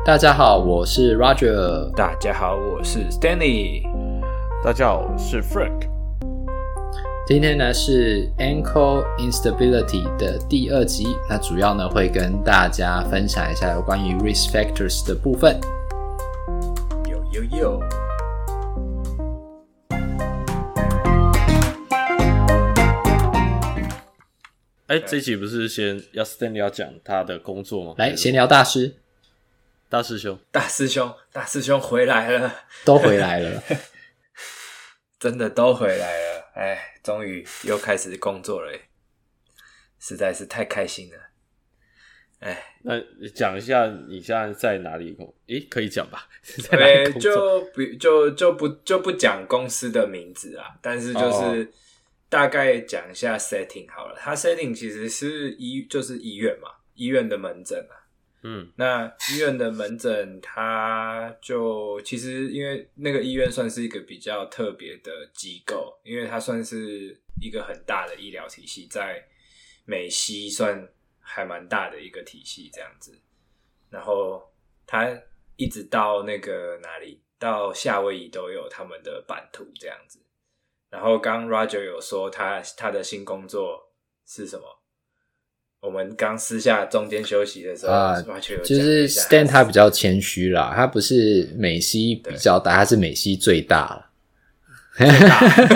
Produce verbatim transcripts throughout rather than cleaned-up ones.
大家好，我是 Roger。 大家好，我是 Stanley。 大家好，我是 Frank。 今天呢是 Ankle Instability 的第二集，那主要呢会跟大家分享一下有关于 Risk Factors 的部分。 有有有。 哎，这一集不是先要 Stanley 要讲他的工作吗？ 来，闲聊大师， 大师兄， 大师兄，大师兄回来了， 都回来了， 真的都回来了。哎，终于又开始工作了，实在是太开心了。哎， 那讲一下你现在在哪里工？诶，可以讲吧？在哪里工作？ 就不就就不就不讲公司的名字啊，但是就是大概讲一下 setting 好了。它 setting 其实是医就是医院嘛，医院的门诊啊。嗯，那医院的门诊，它就其实因为那个医院算是一个比较特别的机构，因为它算是一个很大的医疗体系，在美西算还蛮大的一个体系这样子。然后它一直到那个哪里，到夏威夷都有他们的版图这样子。然后刚 Roger 有说他他的新工作是什么？我们刚私下中间休息的时候， 啊、 Roger 有就是 Stan 他比较谦虚啦，他不是美西比较大，他是美西最大了。 最大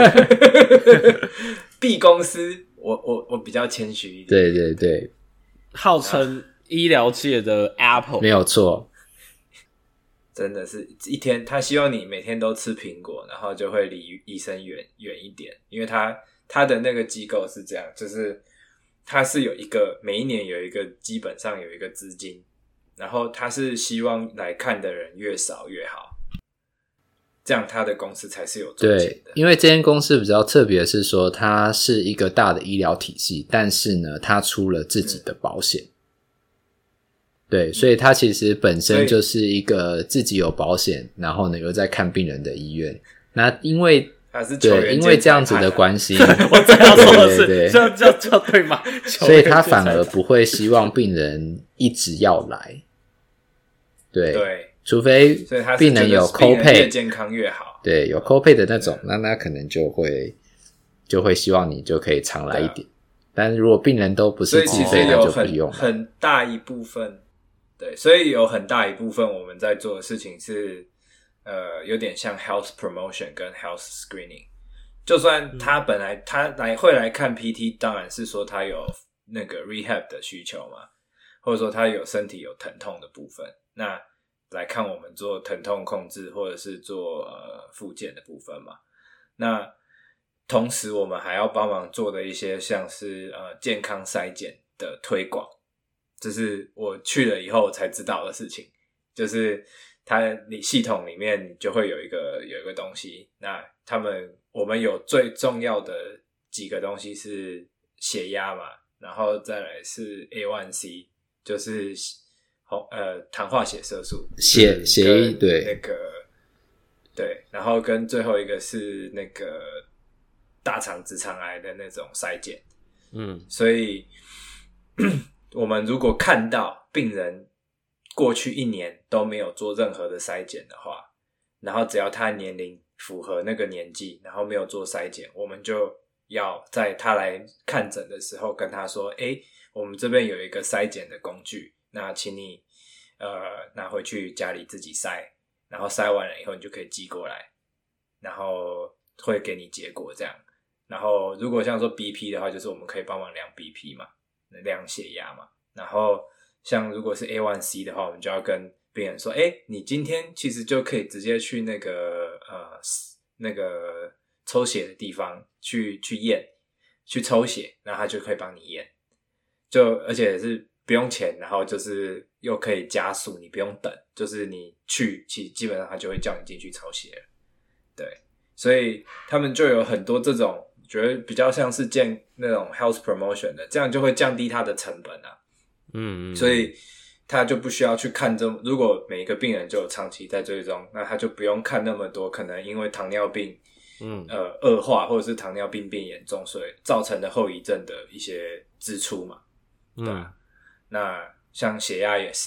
，B 公司，我我我比较谦虚一点。 对对对， 号称医疗界的 Apple， 没有错。 真的是一天，他希望你每天都吃苹果，然后就会离医生远远一点，因为他他的那个机构是这样，就是他是有一个每一年有一个基本上有一个资金，然后他是希望来看的人越少越好，这样他的公司才是有赚钱的。 对，因为这间公司比较特别的是说，它是一个大的医疗体系，但是呢，它出了自己的保险。嗯对，所以它其实本身就是一个自己有保险，然后呢又在看病人的医院。那因为他是球员对，因为这样子的关系， 我正要说的是， 对对对这样这样这样对吗？ 所以他反而不会希望病人一直要来。对， 对， 除非病人有 copay， 越健康越好。 对，有 copay 的那种，那那可能就会就会希望你就可以常来一点。但是如果病人都不是自费，那就不用了。 很大一部分。对，所以有很大一部分我们在做的事情是，呃，有点像 health promotion 跟 health screening。就算他本来他来会来看 P T， 当然是说他有那个 rehab 的需求嘛，或者说他有身体有疼痛的部分，那来看我们做疼痛控制或者是做呃复健的部分嘛。那同时我们还要帮忙做的一些像是呃健康筛检的推广。这是我去了以后才知道的事情，就是它你系统里面就会有一个有一个东西，那他们我们有最重要的几个东西是血压嘛，然后再来是 A 一 C， 就是呃糖化血色素， 血血液对那个对，然后跟最后一个是那个大肠直肠癌的那种筛检，嗯，所以。我们如果看到病人过去一年都没有做任何的筛检的话，然后只要他年龄符合那个年纪，然后没有做筛检，我们就要在他来看诊的时候跟他说，诶，我们这边有一个筛检的工具，那请你呃拿回去家里自己筛，然后筛完了以后你就可以寄过来，然后会给你结果这样。然后如果像说 B P 的话，就是我们可以帮忙量 B P 嘛，量血压嘛，然后像如果是 A 一 C 的话，我们就要跟病人说，诶，你今天其实就可以直接去那个呃那个抽血的地方去去验，去抽血，然后他就可以帮你验，就而且是不用钱，然后就是又可以加速，你不用等，就是你去，其实基本上他就会叫你进去抽血了，对，所以他们就有很多这种。觉得比较像是建那种 health promotion 的，这样就会降低它的成本啊。嗯, 嗯，所以他就不需要去看这，如果每一个病人就有长期在追踪，那他就不用看那么多可能因为糖尿病，嗯，呃，恶化或者是糖尿病变严重，所以造成的后遗症的一些支出嘛。对啊，嗯，那像血压也是嘛，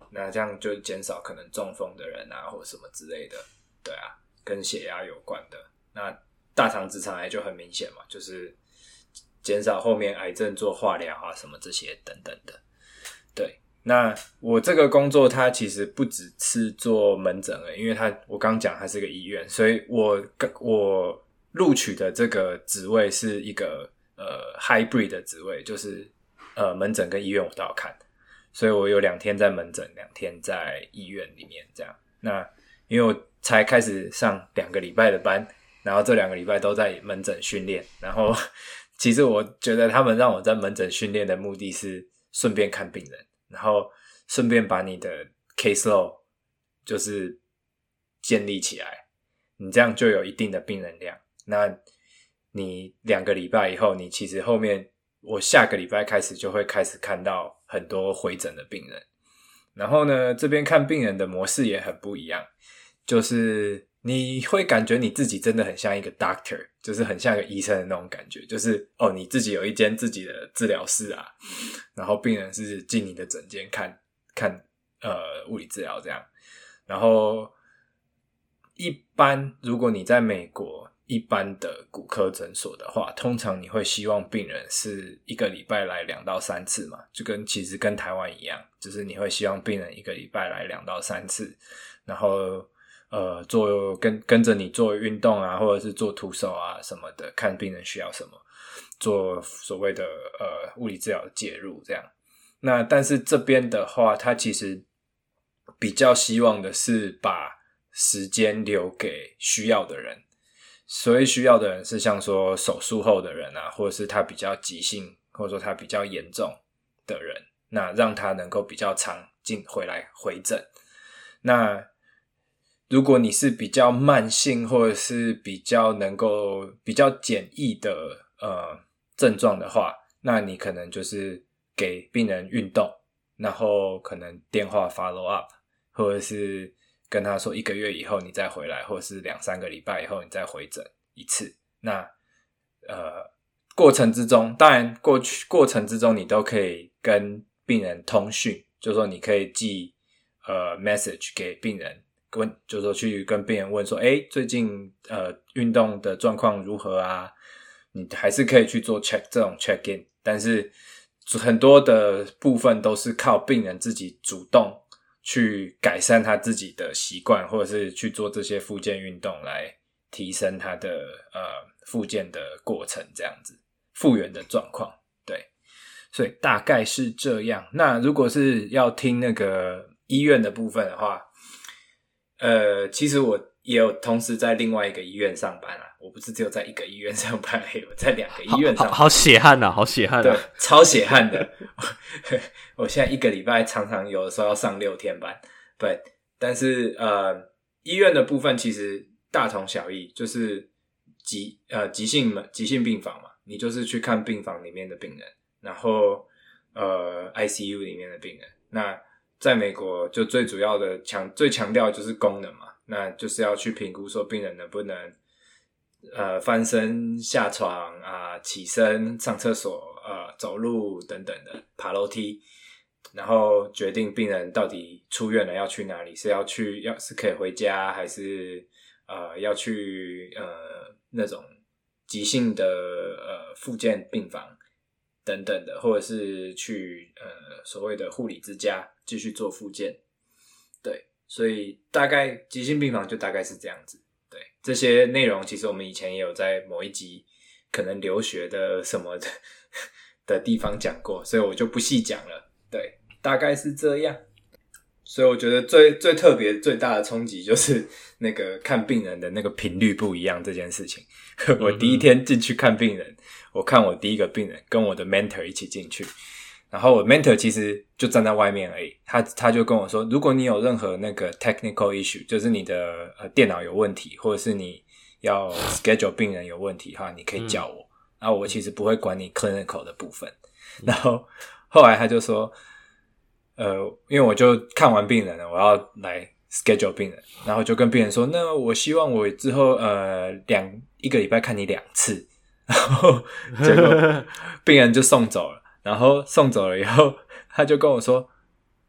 那这样就减少可能中风的人啊或什么之类的，对啊，跟血压有关的。那大肠直肠癌就很明显嘛，就是减少后面癌症做化疗啊什么这些等等的。对，那我这个工作它其实不只是做门诊而已，因为它我刚讲它是个医院，所以我我录取的这个职位是一个呃 hybrid 的职位，就是呃门诊跟医院我都要看，所以我有两天在门诊，两天在医院里面这样。那因为我才开始上两个礼拜的班，然后这两个礼拜都在门诊训练，然后其实我觉得他们让我在门诊训练的目的是顺便看病人，然后顺便把你的 caseload 就是建立起来，你这样就有一定的病人量。那你两个礼拜以后，你其实后面我下个礼拜开始就会开始看到很多回诊的病人，然后呢这边看病人的模式也很不一样，就是你会感觉你自己真的很像一个 doctor， 就是很像一个医生的那种感觉，就是哦你自己有一间自己的治疗室啊，然后病人是进你的诊间看看呃物理治疗这样。然后一般如果你在美国一般的骨科诊所的话，通常你会希望病人是一个礼拜来两到三次嘛，就跟其实跟台湾一样，就是你会希望病人一个礼拜来两到三次，然后呃做跟跟着你做运动啊，或者是做徒手啊什么的，看病人需要什么，做所谓的呃物理治疗的介入这样。那但是这边的话，他其实比较希望的是把时间留给需要的人。所谓需要的人是像说手术后的人啊，或者是他比较急性，或者说他比较严重的人，那让他能够比较常进回来回诊。那如果你是比较慢性或者是比较能够比较简易的呃症状的话，那你可能就是给病人运动，然后可能电话 follow up， 或者是跟他说一个月以后你再回来，或者是两三个礼拜以后你再回诊一次。那呃，过程之中，当然过去过程之中你都可以跟病人通讯，就是说你可以寄呃 message 给病人，问就是说去跟病人问说，诶最近呃运动的状况如何啊？你还是可以去做 check 这种 check in， 但是很多的部分都是靠病人自己主动去改善他自己的习惯，或者是去做这些复健运动来提升他的呃复健的过程，这样子复原的状况。对，所以大概是这样。那如果是要听那个医院的部分的话，呃，其实我也有同时在另外一个医院上班啊，我不是只有在一个医院上班，我在两个医院上班。好, 好, 好血汗啊，好血汗啊！ 对，超血汗的。我现在一个礼拜常常有的时候要上六天班，对。但是呃，医院的部分其实大同小异，就是急呃急性急性病房嘛，你就是去看病房里面的病人，然后呃 I C U 里面的病人。那在美国就最主要的强最强调就是功能嘛，那就是要去评估说病人能不能呃翻身下床啊、起身上厕所、呃走路等等的，爬楼梯，然后决定病人到底出院了要去哪里，是要去要是可以回家，还是呃要去呃那种急性的呃复健病房等等的，或者是去呃所谓的护理之家继续做复健。对，所以大概急性病房就大概是这样子。对，这些内容其实我们以前也有在某一集可能留学的什么的的地方讲过，所以我就不细讲了。对，大概是这样。所以我觉得最最特别最大的冲击就是那个看病人的那个频率不一样这件事情。我第一天进去看病人，我看我第一个病人跟我的 mentor 一起进去，然后我 mentor 其实就站在外面而已，他他就跟我说，如果你有任何那个 technical issue， 就是你的呃电脑有问题，或者是你要 schedule 病人有问题哈，你可以叫我，嗯、然后我其实不会管你 clinical 的部分。然后后来他就说，呃，因为我就看完病人了，我要来 schedule 病人，然后就跟病人说，那我希望我之后呃两一个礼拜看你两次，然后结果病人就送走了。然后送走了以后，他就跟我说，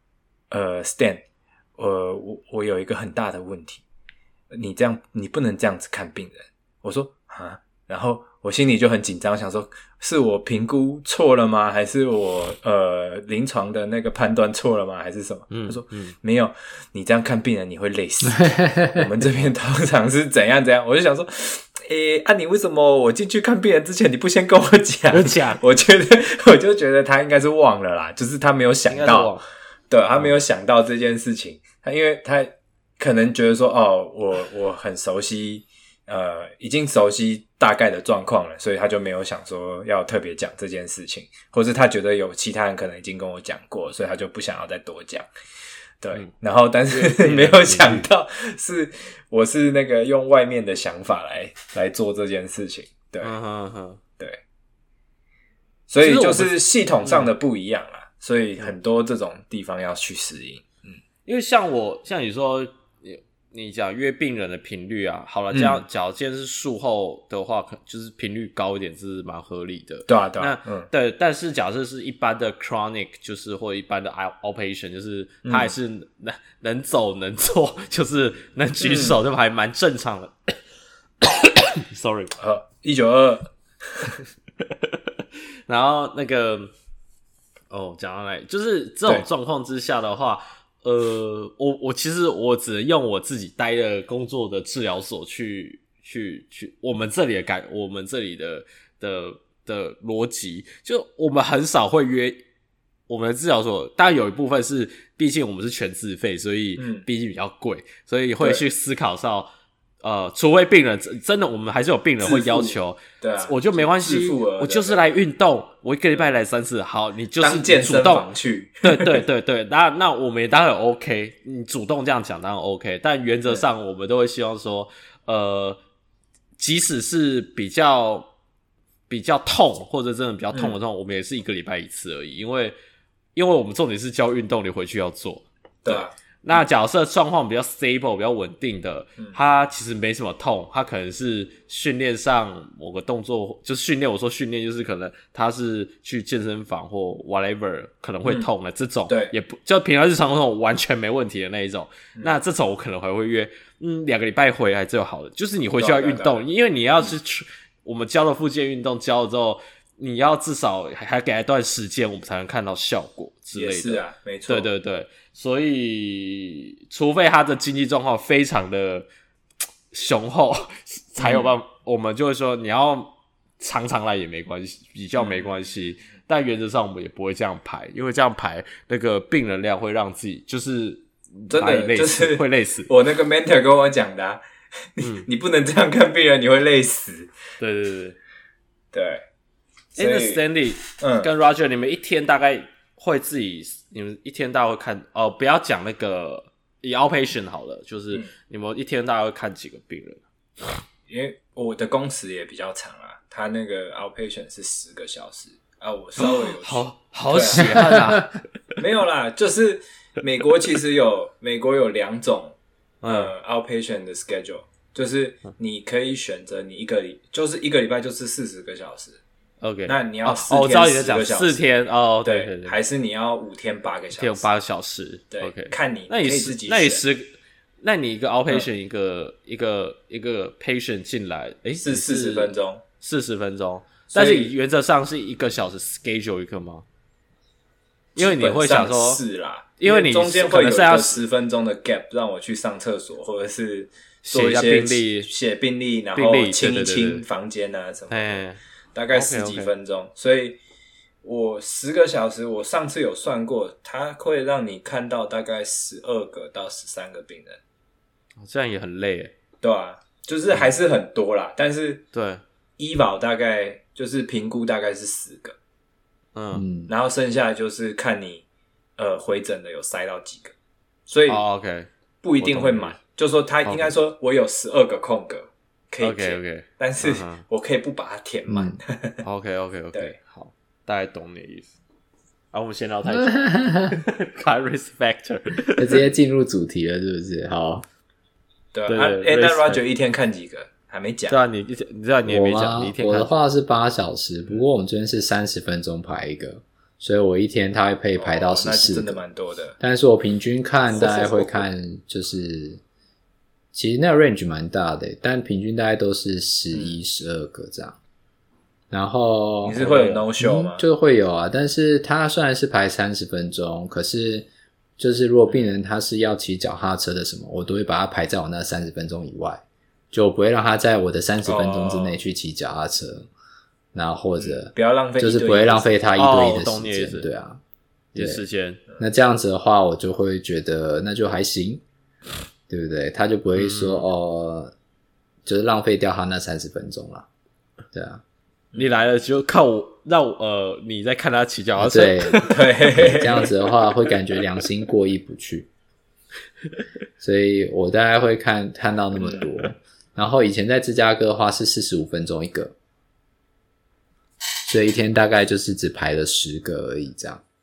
呃 Stan， 呃我我有一个很大的问题，你这样你不能这样子看病人。我说啊，然后我心里就很紧张，想说是我评估错了吗？还是我呃临床的那个判断错了吗？还是什么？ 嗯、 他说、 嗯、 没有，你这样看病人你会累死。我们这边通常是怎样怎样。我就想说，诶，啊你为什么我进去看病人之前你不先跟我讲？ 讲， 我觉得我就觉得他应该是忘了啦，就是他没有想到，对，他没有想到这件事情。他因为他可能觉得说，哦，我我很熟悉。呃，已经熟悉大概的状况了，所以他就没有想说要特别讲这件事情，或是他觉得有其他人可能已经跟我讲过，所以他就不想要再多讲。对、嗯，然后但是没有想到是我是那个用外面的想法来来做这件事情。对， 嗯哼哼， 对，所以就是系统上的不一样啦、嗯，所以很多这种地方要去适应。嗯， 因为像我像你说。你讲约病人的频率啊，好了，这样假如今天是术后的话，就是频率高一点是蛮合理的。 对啊，对啊。 那、嗯、对，但是假设是一般的 chronic， 就是或一般的 outpatient， 就是他还是能、嗯、能走能坐，就是能举手，就还蛮正常的。嗯、Sorry， 呃，一九二。 然后那个，哦，讲到来，就是这种状况之下的话。呃，我我其实我只能用我自己待的工作的治疗所去去去，我们这里的感，我们这里的的的逻辑，就我们很少会约我们的治疗所，当然有一部分是，毕竟我们是全自费，所以毕竟比较贵，嗯、所以会去思考到。呃，除非病人真的，我们还是有病人会要求， 对啊， 我就没关系，我就是来运动，我一个礼拜来三次，好，你就是当健身房去， 对对对对，那那我们也当然 OK， 你主动这样讲当然 OK， 但原则上我们都会希望说，呃，即使是比较比较痛或者真的比较痛的痛，嗯、我们也是一个礼拜一次而已，因为因为我们重点是教运动，你回去要做， 对啊。 那假设状况比较 stable 比较稳定的、嗯、他其实没什么痛，他可能是训练上某个动作，就是训练我说训练就是可能他是去健身房或 whatever 可能会痛的、嗯、这种， 对， 也不就平常日常那种完全没问题的那一种、嗯、那这种我可能还会约嗯两个礼拜回来就好了，就是你回去要运动，因为你要是去、嗯、我们教的复健运动教了之后，你要至少还给他一段时间我们才能看到效果之类的， 也是啊，没错， 对对对，所以除非他的经济状况非常的雄厚才有办法、嗯、我们就会说你要常常来也没关系，比较没关系、嗯、但原则上我们也不会这样排，因为这样排那个病人量会让自己就是真的就是会累死。 我那个 mentor 跟我讲的、啊嗯、你不能这样看病人，你会累死。 对对对对。 哎、欸，那 Stanley 嗯跟 Roger 你们一天大概会自己，你们一天大概会看哦，不要讲那个以 outpatient 好了，就是你们一天大概会看几个病人？ 嗯、因为我的工时也比较长啊，他那个 outpatient 是十个小时啊，我稍微有好好血汗啊， 没有啦，就是美国其实有美国有两种呃 outpatient 的 schedule， 就是你可以选择你一个礼就是一个礼拜就是四十个小时。 OK， 那你要四天十个小时， 四天哦，对对, 对, 对， 还是你要五天八个小时？ 八个小时， 对 ，OK， 看你， 那你可以自己选。 那你十，那你一个 outpatient、嗯、一个一个一个 patient 进来，诶， 是四十分钟， 四十分钟，但是原则上是一个小时 schedule 一个吗？因为你会想说， 是啦， 因为你中间会有一个十分钟的 gap， 让我去上厕所，或者是做一些病历、 写病历，然后清一清房间啊什么的。大概十几分钟， okay, okay. 所以我十个小时，我上次有算过，它会让你看到大概十二个到十三个病人， 这样也很累耶， 对啊，就是还是很多啦，嗯、但是对医保大概就是评估大概是十个， 嗯， 然后剩下就是看你呃回诊的有塞到几个，所以 OK 不一定会满，就说他应该说我有十二个空格。可以填 okay, okay. 但是我可以不把它填满。 嗯、OK OK OK， 对， 好，大概懂你的意思。啊，我们先聊太久 ，Risk Factor， 直接进入主题了，是不是？好， 对啊。哎、啊欸，那 Roger 一天看几个？还没讲。 对啊，你你知道你也没讲，你一天看。 我的话是八小时，不过我们这边是三十分钟排一个， 所以我一天它会可以排到十四、 哦、那真的蛮多的。 但是我平均看大概会看就是其实那个 range 蛮大的，但平均大概都是十一、十二个这样。然后你是会有 no show 吗？ 嗯、就会有啊，但是它虽然是排三十分钟，可是就是如果病人他是要骑脚踏车的什么，我都会把它排在我那三十分钟以外，就不会让他在我的三十分钟之内去骑脚踏车，哦、然后或者、 嗯、不要浪费， 就是不会浪费他一对一的时间， 哦、 对啊， 对时间。 那这样子的话，我就会觉得那就还行，对不对？他就不会说、嗯、哦，就是浪费掉他那三十分钟啦，对啊。 你来了就靠我让我呃你在看他骑脚踏车， 对对，这样子的话会感觉良心过意不去，所以我大概会看看到那么多。然后以前在芝加哥的话是四十五分钟一个，所以一天大概就是只排了十个而已，这样。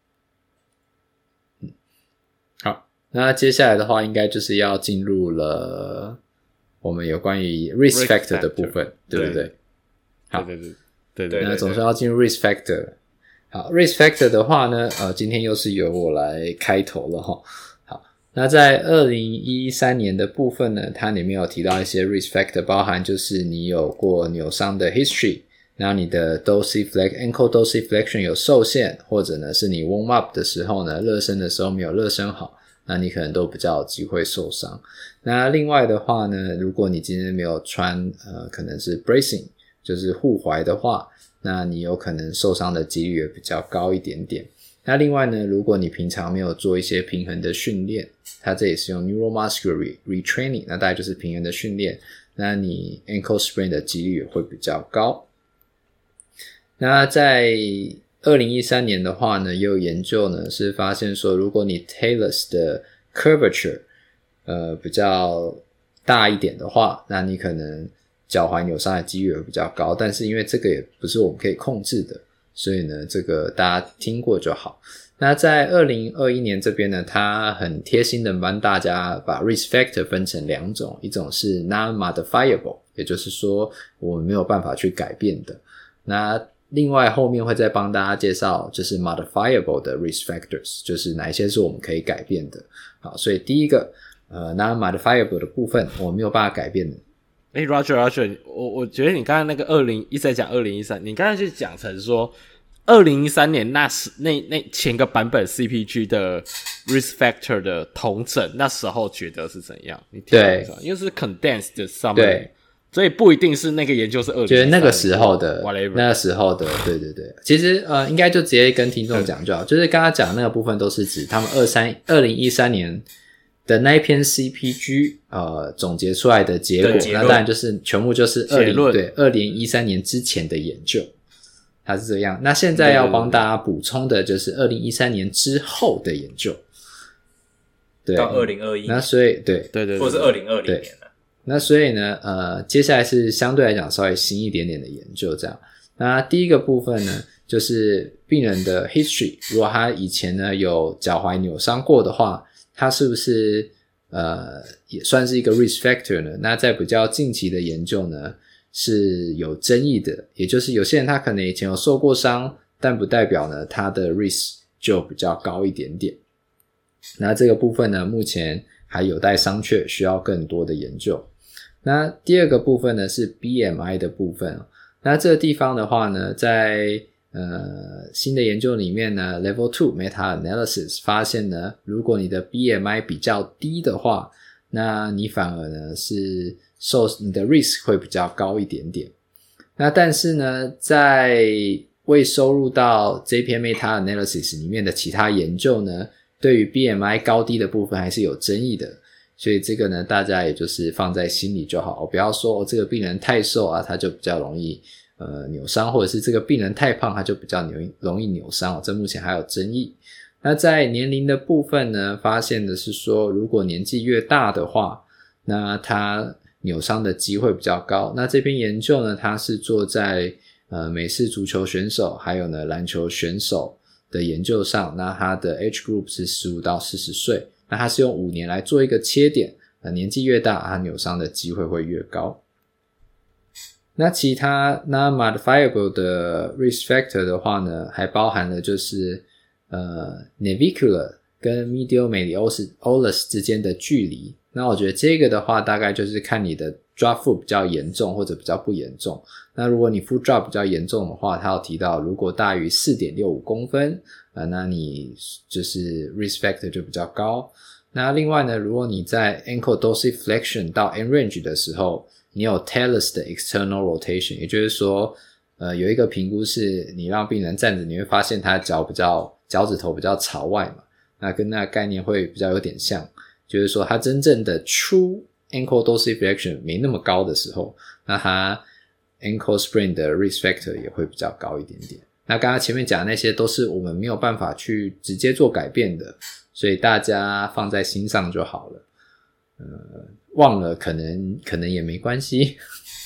嗯，好，那接下来的话应该就是要进入了我们有关于 risk factor 的部分，对不对？好， 对对对对对， 那总是要进入 risk factor。好 ，risk factor 的话呢，呃，今天又是由我来开头了齁。好，那在二零一三年的部分呢，它里面有提到一些 risk factor， 包含就是你有过扭伤的 history， 然后你的 dorsiflexion ankle dorsiflexion 有受限，或者呢是你 warm up 的时候呢，热身的时候没有热身好，那你可能都比较有机会受伤。那另外的话呢，如果你今天没有穿呃，可能是 bracing。就是护踝的话，那你有可能受伤的几率也比较高一点点。那另外呢，如果你平常没有做一些平衡的训练，它这也是用 neuromuscular retraining， 那大概就是平衡的训练，那你 ankle sprain 的几率也会比较高。那在二零一三年的话呢，也有研究呢是发现说，如果你 talus 的 curvature 呃比较大一点的话，那你可能脚踝扭伤的几率会比较高，但是因为这个也不是我们可以控制的，所以呢这个大家听过就好。那在二零二一年这边呢，它很贴心的帮大家把 risk factor 分成两种，一种是 non-modifiable， 也就是说我们没有办法去改变的，那另外后面会再帮大家介绍就是 modifiable 的 risk factors， 就是哪一些是我们可以改变的。好，所以第一个呃 non-modifiable 的部分我们没有办法改变的。 诶 Roger Roger 我我觉得你刚才那个二零一直在讲二零一三，你刚才就讲成说二零一三年那时那那前个版本 C P G 的 risk factor 的统整，那时候觉得是怎样？你听对，因为是 condensed summary， 对，所以不一定是那个研究是二零一三， 觉得那个时候的 whatever 那个时候的，对对对。其实呃，应该就直接跟听众讲就好，就是刚刚讲的那个部分都是指他们二零一三年的那一篇 C P G 呃总结出来的结果，那当然就是全部就是二零对二零一三年之前的研究，它是这样。那现在要帮大家补充的就是二零一三年之后的研究，对， 到二零二一， 那所以对对对， 或是二零二零年了。 那所以呢，呃，接下来是相对来讲稍微新一点点的研究，这样。那第一个部分呢，就是病人的 history， 如果他以前呢有脚踝扭伤过的话，他是不是呃也算是一个 risk factor 呢？那在比较近期的研究呢是有争议的，也就是有些人他可能以前有受过伤，但不代表呢他的 risk 就比较高一点点。那这个部分呢目前还有待商榷，需要更多的研究。那第二个部分呢是 B M I 的部分，那这个地方的话呢，在呃新的研究里面呢 Level 二 Meta-analysis 发现呢，如果你的 B M I 比较低的话，那你反而呢是受你的 risk 会比较高一点点。那但是呢，在未收入到这篇 Meta-analysis 里面的其他研究呢，对于 B M I 高低的部分还是有争议的。所以这个呢，大家也就是放在心里就好，不要说、哦、这个病人太瘦啊，他就比较容易呃扭伤，或者是这个病人太胖，他就比较扭容易扭伤、哦、这目前还有争议。那在年龄的部分呢，发现的是说，如果年纪越大的话，那他扭伤的机会比较高。那这篇研究呢，它是做在呃美式足球选手还有呢篮球选手的研究上，那它的 age group 是十五到四十岁。那它是用五年来做一个切点，呃，年纪越大，它扭伤的机会会越高。 那其他 non-modifiable 的 risk factor 的话呢，还包含了就是呃 navicular 跟 medial malleolus 之间的距离。那我觉得这个的话大概就是看你的 drop foot 比较严重或者比较不严重。那如果你 foot drop 比较严重的话，他有提到如果大于 四点六五公分、呃、那你就是 risk factor 就比较高。那另外呢，如果你在 ankle dorsiflexion 到 end range 的时候，你有 talus 的 external rotation， 也就是说呃，有一个评估是你让病人站着，你会发现他脚比较脚趾头比较朝外嘛，那跟那个概念会比较有点像，就是说他真正的 true ankle dorsiflexion 没那么高的时候，那他 ankle sprain 的 risk factor 也会比较高一点点。那刚刚前面讲的那些都是我们没有办法去直接做改变的，所以大家放在心上就好了。呃，忘了可能可能也没关系。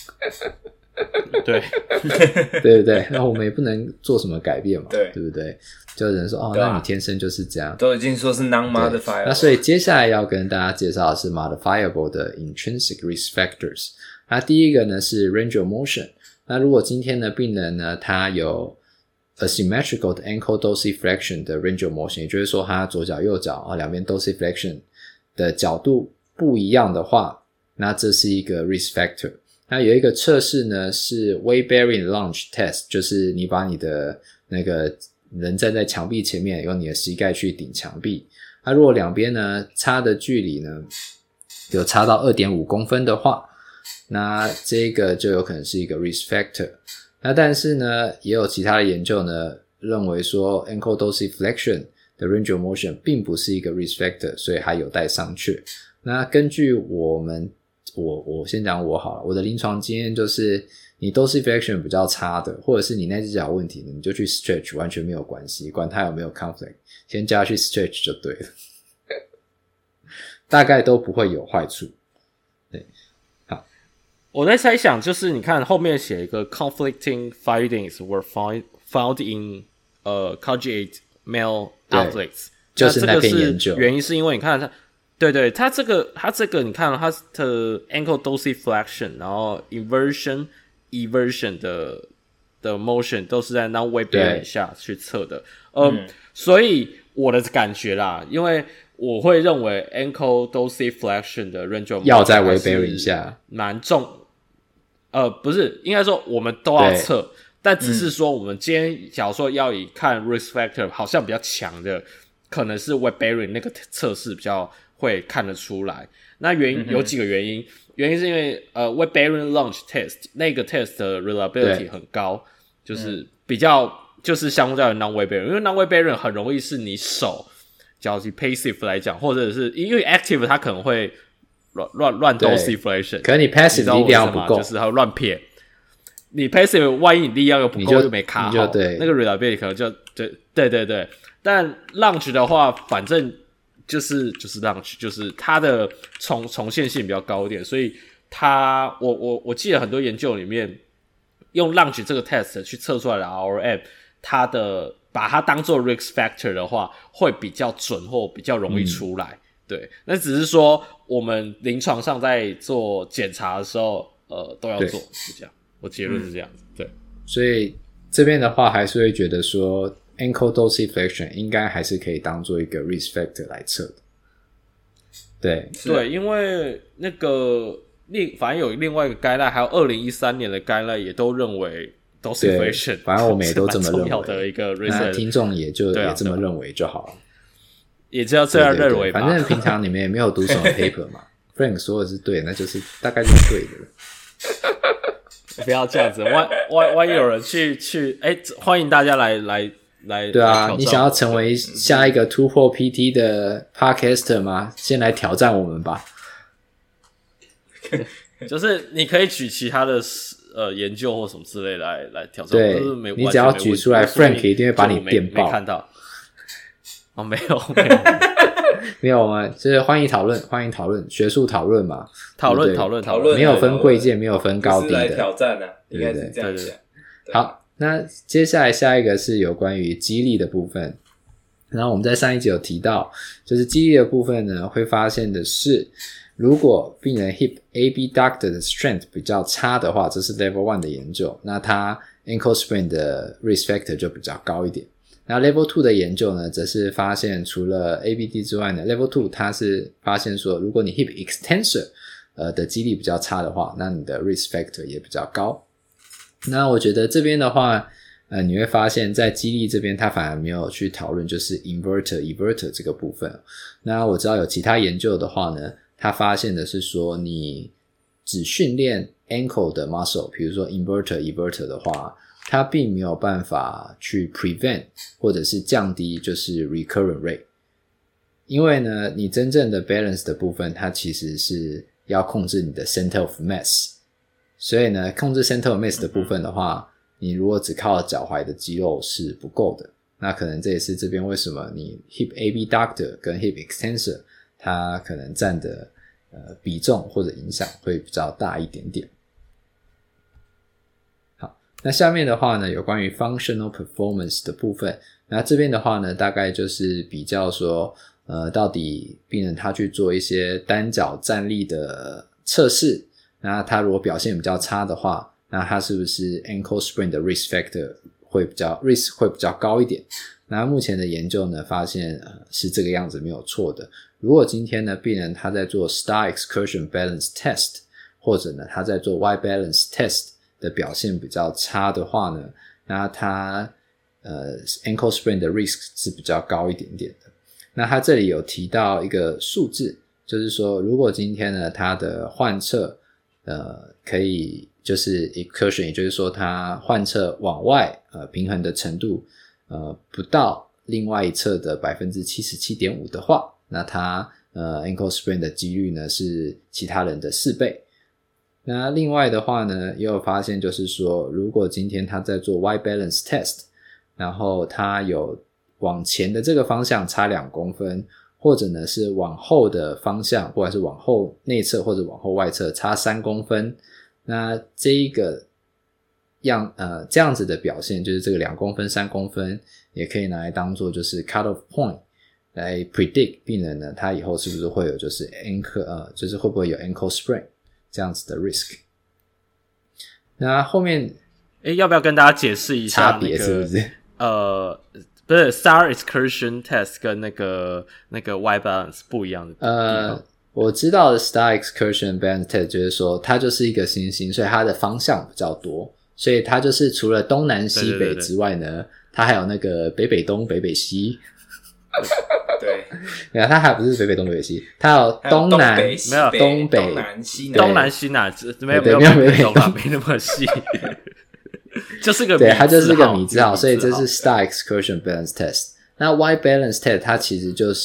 对对不对？那我们也不能做什么改变嘛， 对对不对？就有人说哦，那你天生就是这样， 都已经说是 non-modifiable。 那所以接下来要跟大家介绍的是 modifiable 的 intrinsic risk factors。那第一个呢是 range of motion。那如果今天的病人呢，他有 asymmetrical 的 ankle dorsiflexion 的 range of motion， 也就是说他左脚右脚啊两边 dorsiflexion 的角度不一样的话，那这是一个 risk factor。那有一个测试呢是 weight bearing lunge test， 就是你把你的那个人站在墙壁前面，用你的膝盖去顶墙壁。那如果两边呢差的距离呢有差到 二点五公分的话，那这个就有可能是一个 risk factor。那但是呢也有其他的研究呢认为说 ankle dorsiflexion 的 range of motion 并不是一个 risk factor， 所以还有待商榷。那根据我们我我先讲我好了，我的临床经验就是你 dorsiflexion 比较差的，或者是你那只脚有问题的，你就去 stretch 完全没有关系，管它有没有 conflict， 先叫它去 stretch 就对了。大概都不会有坏处。对，好， 我在猜想就是你看后面写一个 conflicting findings were found found in 呃 conjugate male athletes， 就是那篇研究， 原因是因为你看它对对，它这个它这个你看它的 ankle dorsiflexion， 然后 inversion eversion 的的 motion 都是在 non-weight bearing 下去测的。呃、嗯，所以我的感觉啦，因为我会认为 ankle dorsiflexion 的 range of motion 要在 weight bearing 下蛮重。呃，不是，应该说我们都要测，但只是说我们今天假如说要以看 risk factor 好像比较强的，可能是 weight bearing 那个测试比较会看得出来。那原因有几个原因，原因是因为呃 weight bearing lunge test 那个 test 的 reliability 很高，就是比较就是相较于 non-weight bearing， 因为 non-weight bearing 很容易是你手，假如是 passive 来讲，或者是因为 active 它可能会乱乱乱 dorsiflexion， 可是你 passive 力量不够， 就是它会乱撇。你 passive 万一你力量又不够就没卡好，那个 reliability 可能就对对对对。但 lunge 的话，反正就是就是 lunge， 就是它的重重现性比较高一点，所以它我我我记得很多研究里面用 lunge 这个 test 去测出来的 R M， 它的把它当做 risk factor 的话，会比较准或比较容易出来。嗯、对，那只是说我们临床上在做检查的时候，呃，都要做，是这样。我结论是这样子，嗯、对。 所以这边的话，还是会觉得说 ankle dorsiflexion 应该还是可以当做一个 risk factor 来测的。对对，因为那个另反正有另外一个 guideline， 还有二零一三年的 guideline 也都认为 dorsiflexion， 反正我们也都这么认为。 重要的一个 risk factor， 那听众也就、啊、也这么认为就好了， 也就要这样认为吧。 对对对，反正平常你们也没有读什么 paper 嘛，Frank 说的是对，那就是大概就是对的。 不要这样子，万万万一有人去去，哎、欸，欢迎大家来来来。 对啊，你想要成为下一个突破 P T 的 podcaster 吗？先来挑战我们吧。 就是你可以举其他的呃研究或什么之类来来挑战， 对， 就是没你只要举出来 ，Frank 一定会把你电爆。 没看到？哦，没有没有。 没有吗？就是欢迎讨论，欢迎讨论，学术讨论嘛， 讨论讨论讨论， 没有分贵贱，没有分高低的， 来挑战啊，应该是这样想。 好，那接下来下一个是有关于肌力的部分。然后我们在上一集有提到，就是肌力的部分呢，会发现的是如果病人 hip abductor 的 strength 比较差的话，这是 level 一的研究，那它 ankle sprain 的 risk factor 就比较高一点。那 level 二的研究呢，则是发现除了 A B D 之外呢 level 二它是发现说，如果你 hip extensor 呃的肌力比较差的话，那你的 risk factor 也比较高。那我觉得这边的话呃，你会发现在肌力这边它反而没有去讨论就是 inverter everter 这个部分。那我知道有其他研究的话呢，他发现的是说，你只训练 ankle 的 muscle， 比如说 inverter everter 的话，它并没有办法去 prevent 或者是降低就是 recurrent rate。因为呢，你真正的 balance 的部分，它其实是要控制你的 center of mass。所以呢，控制 center of mass 的部分的话，你如果只靠脚踝的肌肉是不够的。那可能这也是这边为什么你 hip abductor 跟 hip extensor 它可能占的呃比重或者影响会比较大一点点。好，那下面的话呢，有关于 functional performance 的部分。那这边的话呢，大概就是比较说呃，到底病人他去做一些单脚站立的测试，那他如果表现比较差的话，那他是不是 ankle sprain 的 risk factor 会比较 risk 会比较高一点。那目前的研究呢发现、呃、是这个样子没有错的。如果今天呢病人他在做 star excursion balance test 或者呢他在做 Y balance test 的表现比较差的话呢，那他呃 ankle sprain 的 risk 是比较高一点点的。那他这里有提到一个数字，就是说如果今天呢他的患侧呃可以就是 excursion， 也就是说他患侧往外呃平衡的程度呃不到另外一侧的 百分之七十七点五 的话，那他呃 ankle sprain 的几率呢是其他人的四倍。那另外的话呢，也有发现就是说，如果今天他在做 Y balance test， 然后他有往前的这个方向差两公分，或者呢是往后的方向，不管是往后内侧或者往后外侧差三公分，那这一个样呃这样子的表现，就是这个两公分三公分也可以拿来当做就是 cut off point 来 predict 病人呢他以后是不是会有就是 ankle 呃就是会不会有 ankle sprain 这样子的 risk。 那后面诶要不要跟大家解释一下、那个、 差别是不是呃不是 star excursion test 跟那个那个 Y balance 不一样的地方？ 呃我知道的 star excursion balance test 就是说它就是一个星星，所以它的方向比较多，所以它就是除了东南西北之外呢，对对对对，它还有那个北北东北北西。 对， 没有，它还不是北北东北北西，它有东南， 没有东北东南西南， 东南西南没有没有没有没有没那么细。就是个对，它就是个米字号，所以这是 star excursion balance test。那 Y balance test 它其实就是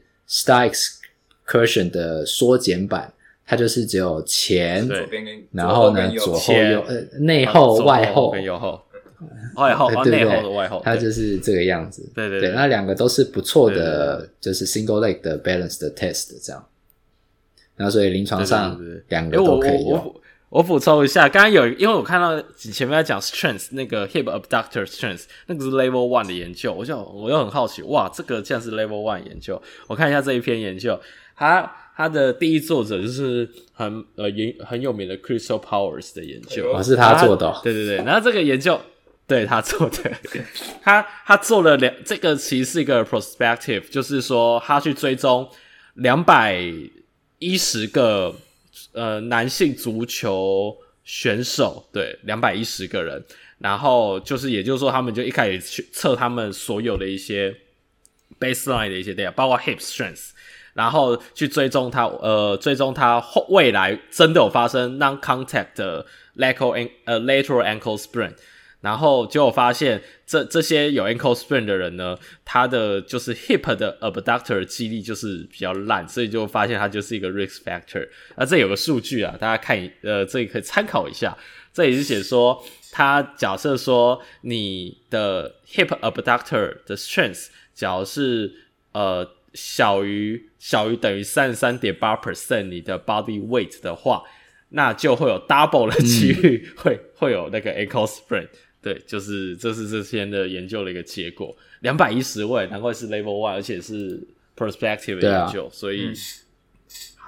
star excursion 的缩减版，它就是只有前，然后呢左后右呃内后外后跟右后。外后对对对， 内后的外后， 它就是这个样子。 对对 对, 对，那两个都是不错的，就是 single leg 的 balance 的 test 这样。那所以临床上两个都可以用。 我我我补充一下，刚刚有因为我看到前面在讲 strength 那个 hip abductor strength 那个是 level 一的研究，我就我又很好奇，哇，这个竟然是 level 一研究。我看一下这一篇研究，它它的第一作者就是很呃很有名的 Crystal Powers 的研究， 哦，是他做的、哦。 对对对，然后这个研究。对他做的，他他做了两，这个其实是一个 prospective， 就是说他去追踪两百一十个呃男性足球选手，对，两百一十个人，然后就是也就是说，他们就一开始去测他们所有的一些 baseline 的一些 data， 包括 hip strength， 然后去追踪他呃追踪他后未来真的有发生 non-contact 的 lateral 呃 lateral ankle sprain。然后结果发现这这些有 ankle sprain 的人呢，他的就是 hip 的 abductor 肌力就是比较烂，所以就发现他就是一个 risk factor。那这有个数据啊，大家看呃这里可以参考一下。这里是写说，他假设说你的 hip abductor 的 strength 假如是呃小于小于等于 三十三点八 percent 你的 body weight 的话，那就会有 double 的几率会、嗯、会有那个 ankle sprain。对，就是这是这篇的研究的一个结果，两百一十位，难怪是 level 一，而且是 prospective 的研究，啊、所以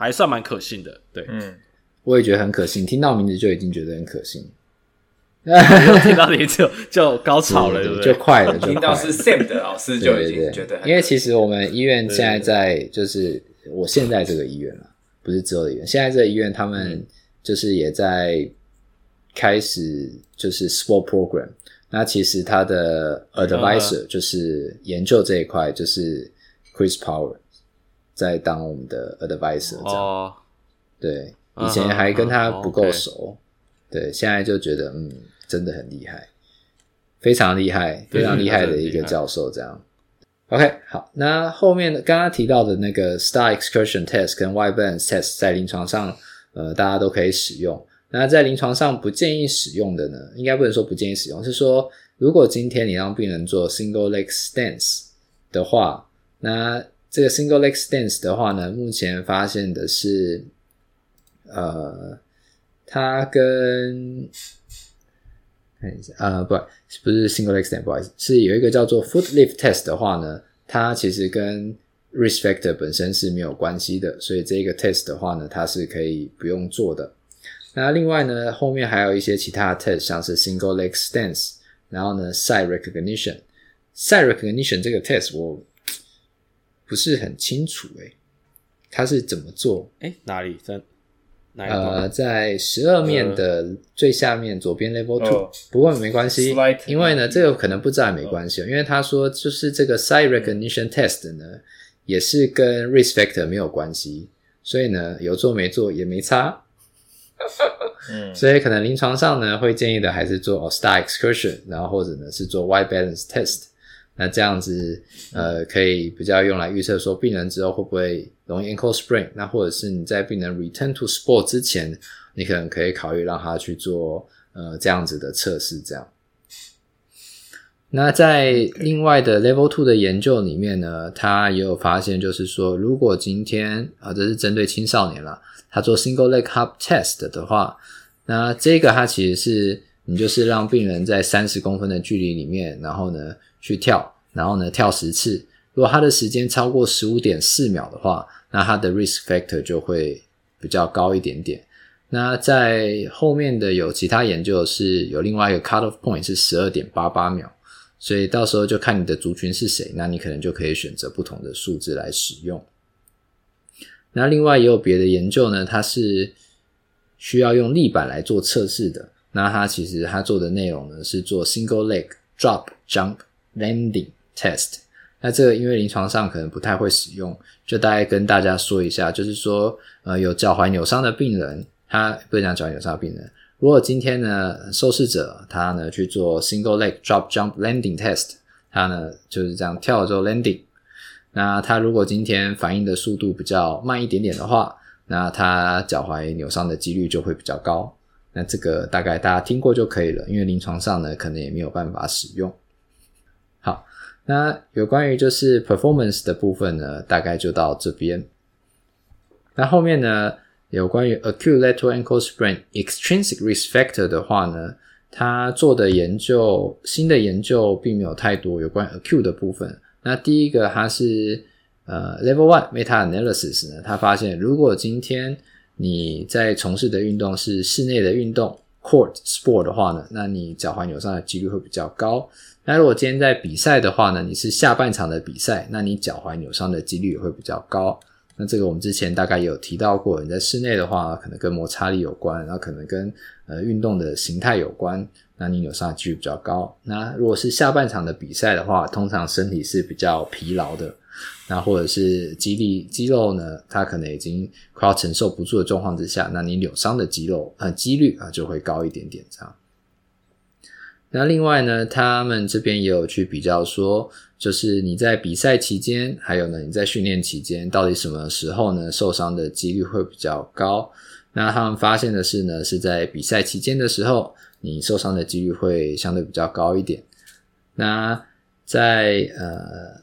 还算蛮可信的。对， 嗯， 我也觉得很可信，听到名字就已经觉得很可信。 听到名字就就高潮了， 对, 对不对？ 就快了，就快了。 听到是 Sam 的老师就已经觉得很可信。 对对对，因为其实我们医院现在在，就是我现在这个医院了，不是之后的医院。现在这个医院他们就是也在开始就是 sport program。那其实他的 advisor 就是研究这一块，就是 Chris Power 在当我们的 advisor 这样。哦，对，以前还跟他不够熟，对，现在就觉得嗯，真的很厉害，非常厉害，非常厉害的一个教授这样。OK， 好，那后面刚刚提到的那个 Star Excursion Test 跟 White Balance Test 在临床上，呃，大家都可以使用。那在临床上不建议使用的呢，应该不能说不建议使用，是说如果今天你让病人做 single leg stance 的话，那这个 single leg stance 的话呢，目前发现的是呃它跟看一下呃不不是 single leg stance 不好意思，是有一个叫做 foot lift test 的话呢，它其实跟 risk factor 本身是没有关系的，所以这个 test 的话呢，它是可以不用做的。那另外呢，后面还有一些其他的 test， 像是 single leg stance， 然后呢 sight recognition。sight recognition 这个 test 我不是很清楚诶，它是怎么做？ 诶，哪里？在哪里？ 呃，在十二面的最下面左边 level two，、哦、不过没关系，因为呢，这个可能不知道也没关系、哦，因为他说就是这个 sight recognition test 呢，也是跟 risk factor 没有关系，所以呢，有做没做也没差。嗯，所以可能临床上呢会建议的还是做 Star Excursion， 然后或者呢是做 White Balance Test， 那这样子呃可以比较用来预测说病人之后会不会容易 ankle sprain， 那或者是你在病人 return to sport 之前，你可能可以考虑让他去做呃这样子的测试这样。那在另外的 level two 的研究里面呢，他也有发现就是说如果今天啊这是针对青少年啦，他做 single leg hop test 的话，那这个它其实是你就是让病人在三十公分的距离里面，然后呢去跳，然后呢跳十次，如果他的时间超过 十五点四秒的话，那他的 risk factor 就会比较高一点点。那在后面的有其他研究是有另外一个 cut off point 是 十二点八八秒，所以到时候就看你的族群是谁，那你可能就可以选择不同的数字来使用。那另外也有别的研究呢，它是需要用立板来做测试的。那它其实它做的内容呢是做 single leg drop jump landing test。那这个因为临床上可能不太会使用，就大概跟大家说一下，就是说呃有脚踝扭伤的病人，他不是讲脚踝扭伤的病人，如果今天呢受试者他呢去做 single leg drop jump landing test， 他呢就是这样跳了之后 landing。那他如果今天反应的速度比较慢一点点的话，那他脚踝扭伤的几率就会比较高。那这个大概大家听过就可以了，因为临床上呢可能也没有办法使用。好，那有关于就是 performance 的部分呢，大概就到这边。那后面呢有关于 acute lateral ankle sprain extrinsic risk factor 的话呢，他做的研究新的研究并没有太多有关 acute 的部分。那第一个它是呃 level one meta-analysis 呢，他发现如果今天你在从事的运动是室内的运动 court sport 的话呢，那你脚踝扭伤的几率会比较高。那如果今天在比赛的话呢，你是下半场的比赛，那你脚踝扭伤的几率也会比较高。那这个我们之前大概也有提到过，你在室内的话可能跟摩擦力有关，然后可能跟呃运动的形态有关，那你扭伤的几率比较高。那如果是下半场的比赛的话，通常身体是比较疲劳的，那或者是肌力肌肉呢它可能已经快要承受不住的状况之下，那你扭伤的肌肉呃几率啊就会高一点点这样。那另外呢，他们这边也有去比较说，就是你在比赛期间，还有呢你在训练期间，到底什么时候呢受伤的几率会比较高。那他们发现的是呢，是在比赛期间的时候，你受伤的几率会相对比较高一点。那在呃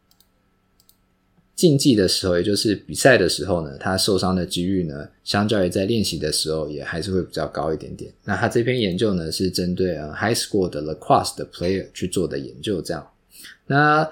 竞技的时候，也就是比赛的时候呢，他受伤的几率呢相较于在练习的时候也还是会比较高一点点。那他这篇研究呢是针对呃 high school 的 lacrosse 的 player 去做的研究这样。那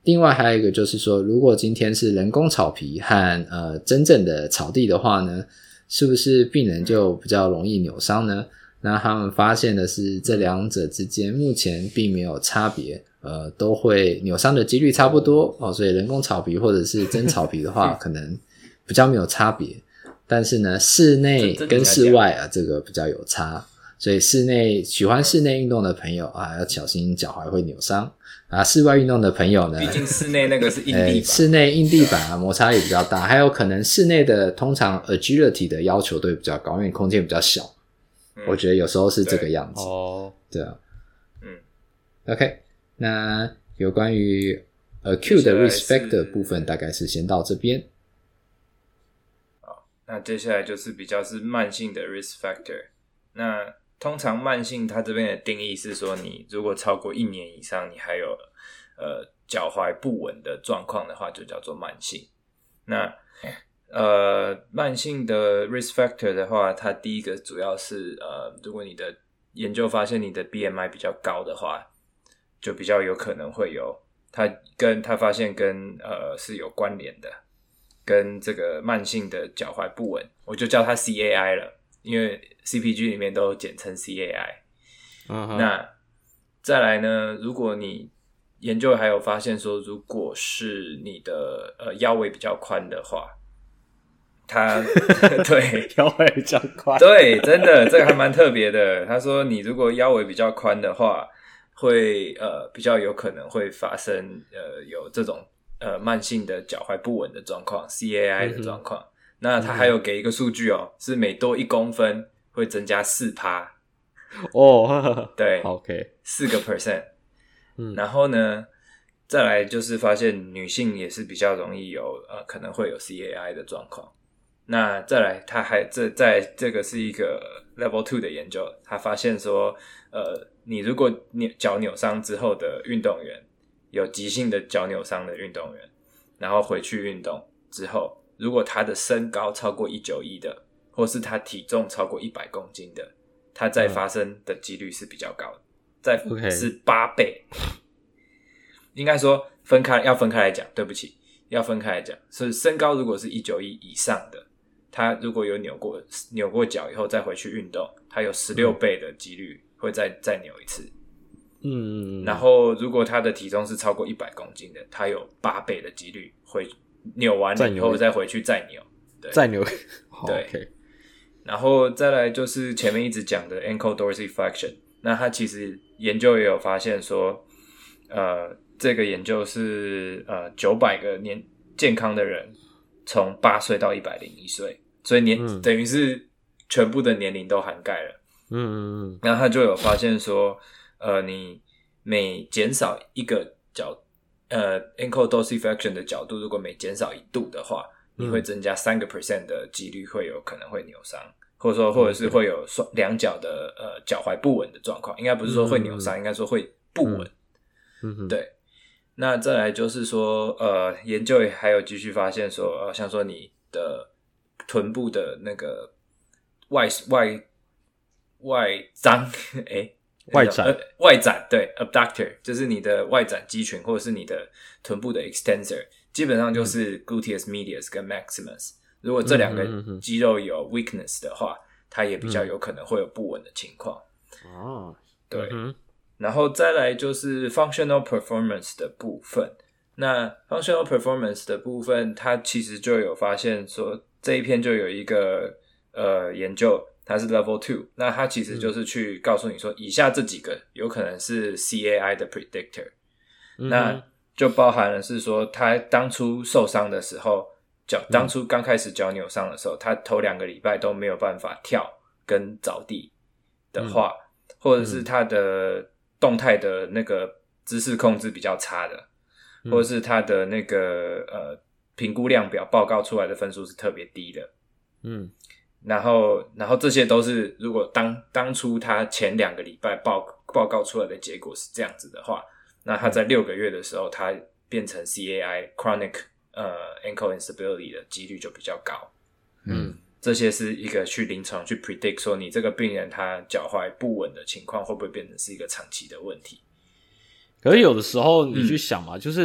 另外还有一个就是说，如果今天是人工草皮和呃真正的草地的话呢，是不是病人就比较容易扭伤呢？那他们发现的是这两者之间目前并没有差别，呃，都会扭伤的几率差不多哦，所以人工草皮或者是真草皮的话可能比较没有差别，但是呢室内跟室外啊这个比较有差，所以室内喜欢室内运动的朋友啊要小心脚踝会扭伤啊，室外运动的朋友呢， 毕竟室内那个是硬地板、 呃、室内硬地板啊摩擦力比较大，还有可能室内的通常 agility 的要求都会比较高，因为空间比较小。我觉得有时候是这个样子哦，对啊，嗯 ，OK， 那有关于 acute 的 risk factor 部分大概是先到这边。 好，那接下来就是比较是慢性的 risk factor。那通常慢性它这边的定义是说，你如果超过一年以上，你还有呃脚踝不稳的状况的话，就叫做慢性。那呃，慢性的 risk factor 的话，它第一个主要是呃，如果你的研究发现你的 B M I 比较高的话，就比较有可能会有它跟它发现跟呃是有关联的，跟这个慢性的脚踝不稳，我就叫它 C A I 了，因为 C P G 里面都简称 C A I。Uh-huh. 那再来呢，如果你研究还有发现说，如果是你的呃腰围比较宽的话。他对腰围比较宽， 对，真的这个还蛮特别的。他说，你如果腰围比较宽的话，会呃比较有可能会发生呃有这种呃慢性的脚踝不稳的状况 ，C A I 的状况。嗯、那他还有给一个数据哦，是每多一公分会增加四趴哦， 对 ，OK， 四个 percent。嗯，然后呢，再来就是发现女性也是比较容易有呃可能会有 C A I 的状况。那再来，他还这在这个是一个 level two 的研究，他发现说，呃，你如果扭脚扭伤之后的运动员，有急性的脚扭伤的运动员，然后回去运动之后，如果他的身高超过一百九十一的，或是他体重超过一百公斤的，他再发生的几率是比较高的，再是八倍。应该说分开要分开来讲，对不起，要分开来讲，所以身高如果是一百九十一以上的。他如果有扭过扭过脚以后再回去运动，他有十六倍的几率会再再扭一次。嗯，然后如果他的体重是超过一百公斤的，他有八倍的几率会扭完了以后再回去再扭，对， 再扭， 对。 Okay. 然后再来就是前面一直讲的 ankle dorsiflexion， 那他其实研究也有发现说，呃，这个研究是呃九百个年健康的人，从八岁到一百零一岁。所以年、嗯、等于是全部的年龄都涵盖了，嗯嗯嗯。然后他就有发现说，呃，你每减少一个角，呃 ，ankle dorsiflexion 的角度，如果每减少一度的话，你会增加三个 percent 的几率会有可能会扭伤，或者说或者是会有双两脚的呃脚踝不稳的状况，应该不是说会扭伤，嗯、应该说会不稳。嗯嗯，对。那再来就是说，呃，研究也还有继续发现说，呃，像说你的臀部的那个外外外张，诶， 外展、 呃、外展对 abductor 就是你的外展肌群或者是你的臀部的 extensor， 基本上就是 gluteus medius 跟 maximus。如果这两个肌肉有 weakness 的话，它也比较有可能会有不稳的情况。哦，对。嗯，然后再来就是 functional performance 的部分。那 functional performance 的部分，它其实就有发现说。这一篇就有一个呃研究，它是 level two， 那它其实就是去告诉你说，以下这几个有可能是 C A I 的 predictor，嗯、那就包含了是说，他当初受伤的时候，脚当初刚开始脚扭伤的时候，他头两个礼拜都没有办法跳跟着地的话，嗯、或者是他的动态的那个姿势控制比较差的，嗯、或者是他的那个呃。评估量表报告出来的分数是特别低的，嗯，然后，然后这些都是如果当当初他前两个礼拜报报告出来的结果是这样子的话，那他在六个月的时候，他变成 C A I chronic 呃 ankle instability 的几率就比较高，嗯，这些是一个去临床去 predict 说你这个病人他脚踝不稳的情况会不会变成是一个长期的问题。 可是有的时候你去想嘛，嗯、就是。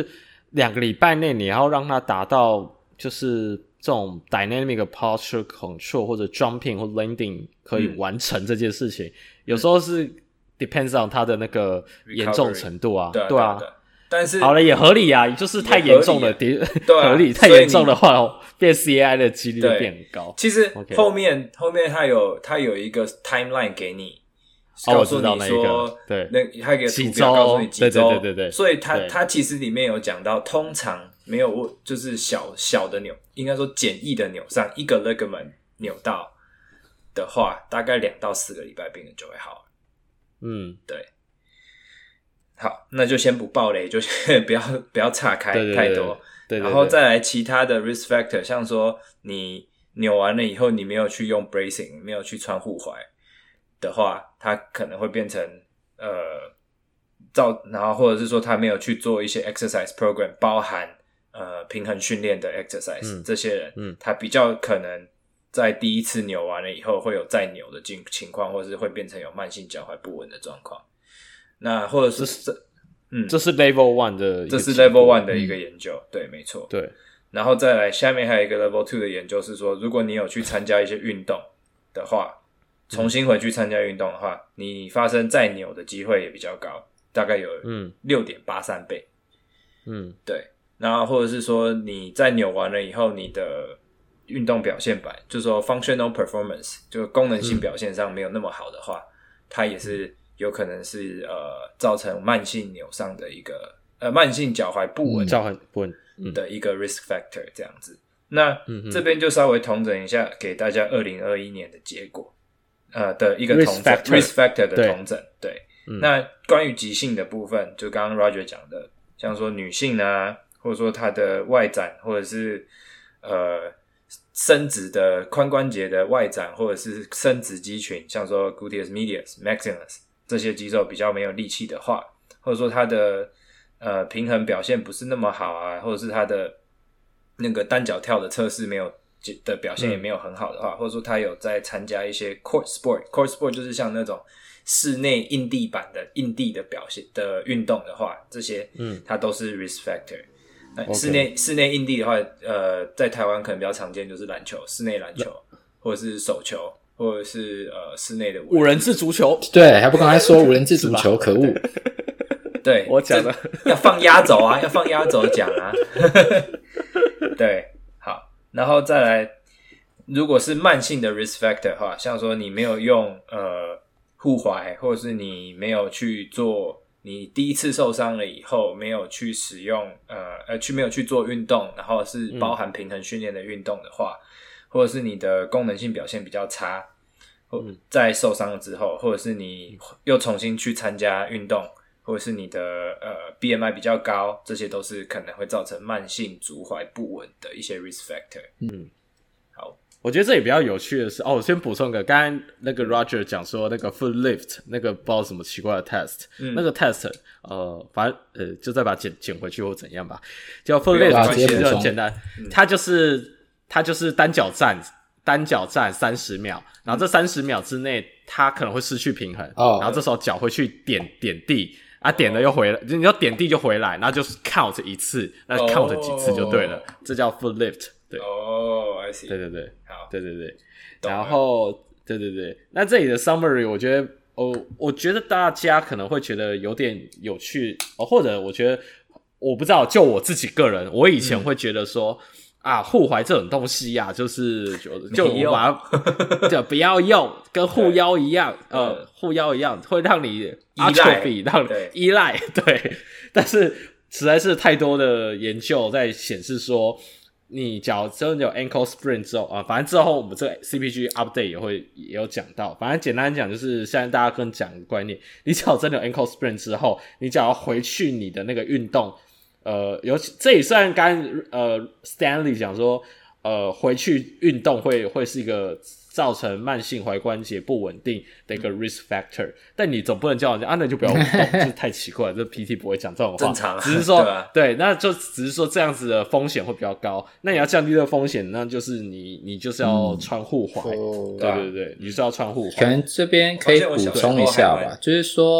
两个礼拜内你要让它达到就是这种 dynamic posture control 或者 jumping 或 landing 可以完成这件事情，嗯、有时候是 depends on 它的那个严重程度啊， 对啊， 对啊。 对啊但是好了也合理啊，就是太严重了， 对、啊， 合理太严重的话，变 C A I 的几率变很高。 其实后面、okay. 后面它有它有一个 timeline 给你， 哦、 告诉你说， 那个对， 那它有一个图表告诉你几周， 对对对对对。 所以它它其实里面有讲到，通常没有就是小小的扭，应该说简易的扭伤，一个 ligament 扭到的话，大概两到四个礼拜病人就会好了。嗯，对。好，那就先不爆雷，就先不要不要岔开太多， 对对对对， 然后再来其他的 risk factor， 像说你扭完了以后，你没有去用 bracing， 没有去穿护踝的话，它可能会变成呃造，然后或者是说他没有去做一些 exercise program， 包含呃平衡训练的 exercise，、嗯、这些人，嗯，他比较可能在第一次扭完了以后会有再扭的情况，或者是会变成有慢性脚踝不稳的状况。那或者是这，嗯， 这是 level one 的， 这是 level one 的一个研究，嗯、对，没错， 对。 然后再来，下面还有一个 level two 的研究是说，如果你有去参加一些运动的话，重新回去参加运动的话，嗯、你发生再扭的机会也比较高，大概有嗯 六点八三倍，嗯，对。然后或者是说你在扭完了以后，你的运动表现版，就是说 functional performance， 就功能性表现上没有那么好的话，嗯、它也是。有可能是呃造成慢性扭伤的一个呃慢性脚踝不稳、 脚踝不稳的一个 risk factor 这样子。那、嗯、这边就稍微统整一下，给大家二零二一年的结果，呃的一个统整 risk factor 的统整。对，对嗯、那关于急性的部分，就刚刚 Roger 讲的，像说女性啊，或者说她的外展，或者是呃伸直的髋关节的外展，或者是伸直肌群，像说 gluteus medius maximus。这些肌肉比较没有力气的话，或者说它的呃平衡表现不是那么好啊，或者是它的那个单脚跳的测试没有的表现也没有很好的话，嗯、或者说他有在参加一些 court sport，court sport 就是像那种室内硬地板的硬地的表现的运动的话，这些嗯它都是 risk factor。那、嗯、室内室内硬地的话，呃，在台湾可能比较常见就是篮球，室内篮球或者是手球。或者是呃室内的五人制足球， 对，还不刚才说五人制足球，可恶！ 对， 我讲的要放压轴啊，要放压轴讲啊。对，好，然后再来，如果是慢性的 risk factor 的话，像说你没有用呃护踝，或者是你没有去做，你第一次受伤了以后没有去使用呃呃去没有去做运动，然后是包含平衡训练的运动的话。嗯或者是你的功能性表现比较差，或在受伤了之后，或者是你又重新去参加运动，或者是你的呃 B M I 比较高，这些都是可能会造成慢性足踝不稳的一些 risk factor。嗯，好， 我觉得这里比较有趣的是，哦，我先补充一个，刚刚那个 Roger 讲说那个 foot lift 那个不知道什么奇怪的 test，、嗯、那个 test 呃，反正呃就再把它剪剪回去或怎样吧，就 foot lift 其实就很简单，嗯、它就是。它就是单脚站，单脚站三十秒，然后这三十秒之内，它可能会失去平衡，哦、然后这时候脚会去点点地，啊，点了又回来，你要点地就回来，然后就是 count 一次，那 count 几次就对了，哦、这叫 foot lift， 对， 哦 ，I see， 对对对， 好， 对对对，然后对对对，那这里的 summary 我觉得，哦，我觉得大家可能会觉得有点有趣，哦，或者我觉得我不知道，就我自己个人，我以前会觉得说。嗯啊，护踝这种东西啊，就是就就我把它就不要用，跟护腰一样，呃，护腰一样会让你 atrophy， 让你依赖，对。但是实在是太多的研究在显示说，你脚真的有 ankle sprain 之后啊，反正之后我们这个 C P G update 也会也有讲到。反正简单讲就是，现在大家跟讲的观念，你脚真的有 ankle sprain 之后，你脚要回去你的那个运动。呃，尤其这也算刚呃 Stanley 讲说，呃，回去运动会会是一个造成慢性踝关节不稳定的一个 risk factor， 但你总不能叫人家啊，那就不要运动，这太奇怪了，这 P T 不会讲这种话， 正常， 只是说对,、啊、 对，那就只是说这样子的风险会比较高，那你要降低这个风险，那就是你你就是要穿护踝、嗯，对对对，你是要穿护踝。 可能这边可以补充一下吧，就是说。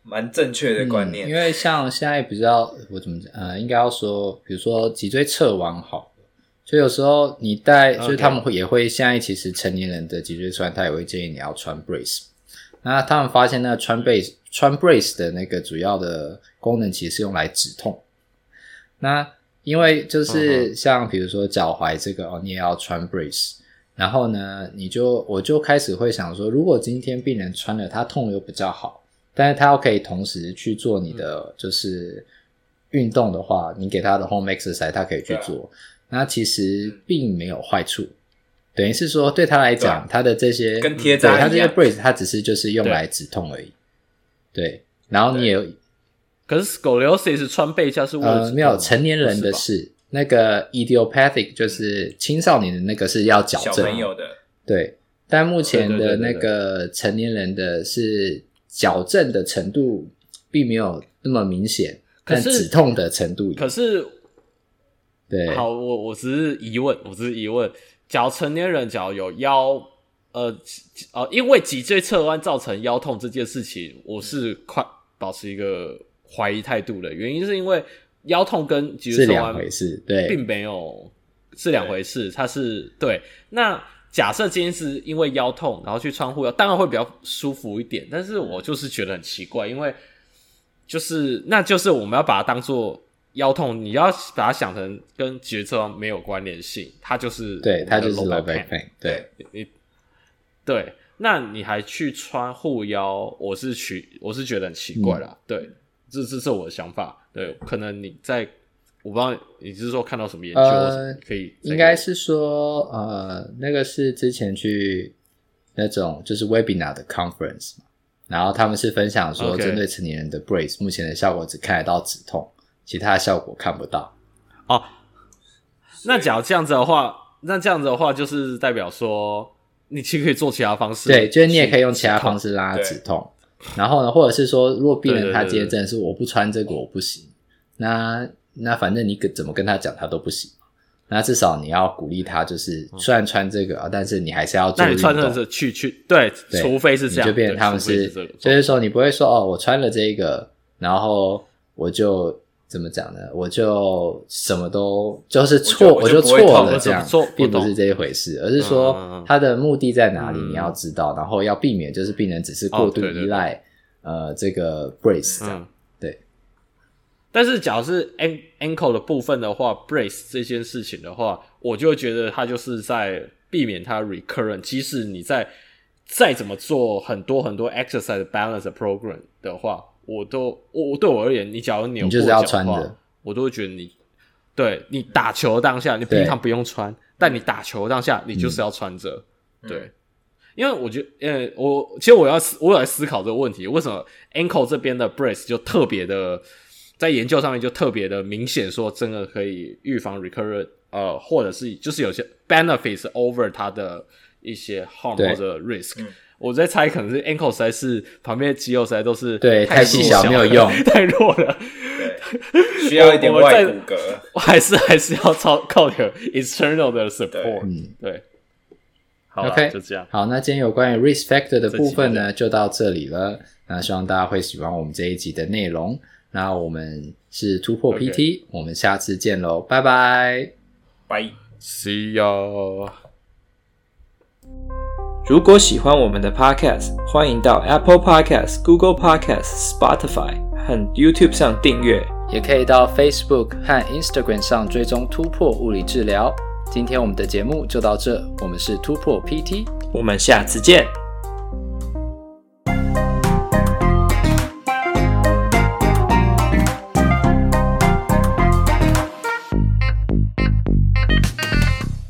蛮正确的观念、 嗯。因为像现在比较我怎么讲呃，应该要说，比如说脊椎侧弯好。所以有时候你带，所以他们会也会现在其实成年人的脊椎侧弯，他也会建议你要穿 brace。那他们发现那个穿 brace 穿 brace 的那个主要的功能其实是用来止痛。那因为就是像比如说脚踝这个哦，你也要穿 brace。然后呢，你就我就开始会想说，如果今天病人穿了，他痛又比较好，但是他又可以同时去做你的就是运动的话，你给他的 home exercise 他可以去做。那其实并没有坏处，等于是说对他来讲，他的这些跟贴扎一样， 他这些 brace 他只是就是用来止痛而已。对，对然后你也有， 可是 scoliosis 穿背架是为了止痛、 呃、没有成年人的是那个 idiopathic 就是青少年的那个是要矫正， 小朋友的对，但目前的那个成年人的是矫正的程度并没有那么明显，但止痛的程度有。 可是对， 好，我我只是疑问，我只是疑问，假如成年人假如有腰，呃呃，因为脊椎侧弯造成腰痛这件事情，我是快保持一个怀疑态度的原因，是因为腰痛跟脊椎侧弯是两回事，对， 并没有是两回事，它是对。那假设今天是因为腰痛，然后去穿护腰，当然会比较舒服一点，但是我就是觉得很奇怪，因为就是那就是我们要把它当做。腰痛，你要把它想成跟脊椎侧弯没有关联性，它就是对，它就是 low back back pain， 对， 你对，那你还去穿护腰，我是取我是觉得很奇怪啦，嗯、对，这这是我的想法，对，可能你在我不知道你是说看到什么研究，呃、可以应该是说呃，那个是之前去那种就是 webinar 的 conference 嘛，然后他们是分享说针对成年人的 brace， 目前的效果只看得到止痛。其他的效果看不到哦。那假如这样子的话，那这样子的话，就是代表说，你其实可以做其他方式。 对，就是你也可以用其他方式让它止痛。然后呢，或者是说，如果病人他今天真的是我不穿这个我不行，那那反正你怎么跟他讲他都不行。那至少你要鼓励他，就是虽然穿这个啊，但是你还是要做运动。 那你穿这个去去对，除非是这样， 你就变成他们是，是就是说你不会说哦，我穿了这个，然后我就。怎么讲呢？我就什么都就是错，我就错了，这样并不是这一回事，而是说它的目的在哪里，你要知道，然后要避免就是病人只是过度依赖、哦、呃这个 brace 这样、嗯、对。 但是假如是 ankle 的部分的话 ，brace 这件事情的话，我就会觉得它就是在避免它 recurrent， 即使你在再怎么做很多很多 exercise balance program 的话。我都我对我而言，你假如扭过脚的话，我都会觉得你对你打球当下，你平常不用穿，但你打球当下，你就是要穿着、嗯。对，因为我觉得，呃，我其实我要我有在思考这个问题，为什么 ankle 这边的 brace 就特别的，在研究上面就特别的明显，说真的可以预防 recurrent， 呃，或者是就是有些 benefits over 它的一些 harm 或者 risk。嗯我在猜，可能是 ankle 实在是旁边的肌肉实在都是对太细小没有用， 太弱了， 对，需要一点外骨骼， 我还是还是要靠靠点 external 的 support， 嗯， 对。好 ，OK， 就这样。 好，那今天有关于 risk factor 的部分呢，就到这里了。那希望大家会喜欢我们这一集的内容。那我们是突破 P T，、okay. 我们下次见喽，拜拜， 拜 ，See ya。 如果喜欢我们的 Podcast， 欢迎到 Apple Podcast、Google Podcast、Spotify 和 YouTube 上订阅， 也可以到 Facebook 和 Instagram 上追踪突破物理治疗。今天我们的节目就到这，我们是突破 P T， 我们下次见。